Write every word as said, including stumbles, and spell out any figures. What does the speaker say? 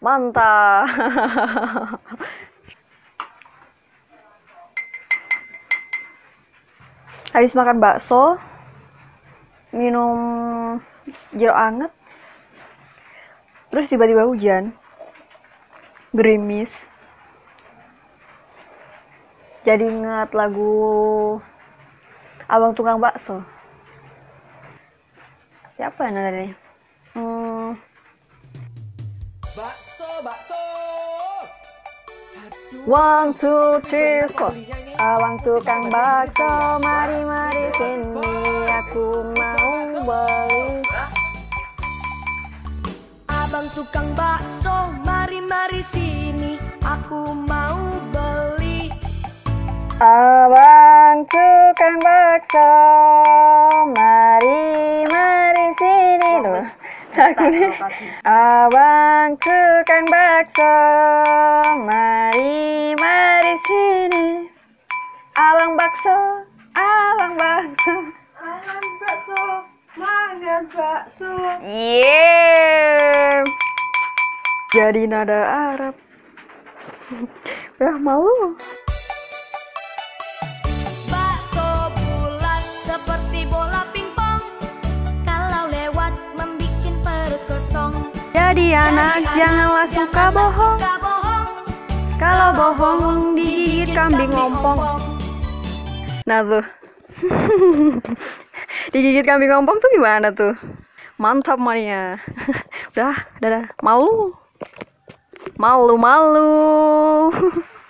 Mantap. Habis makan bakso, minum jeruk anget, terus tiba-tiba hujan, gerimis. Jadi ingat lagu Abang Tukang Bakso. Siapa yang nadanya? Hmm. Bakso, bakso. One, two, three, four. Abang tukang bakso, mari mari sini, aku mau beli. Abang tukang bakso, mari mari sini, aku mau beli. Abang tukang bakso, mari mari sini tuh. Abang tukang bakso, mari mari sini. Abang bakso, abang bakso, Abang bakso, mana bakso? yeah. Jadi nada Arab. Udah malu. Bakso bulat seperti bola pingpong, kalau lewat membikin perut kosong. Jadi anak janganlah suka bohong. Suka bohong, Kalau bohong digigit kambing ngompong. Nah tuh. Digigit kambing ngompong tuh gimana tuh? Mantap Mania. Udah, dadah. Malu. Malu, malu.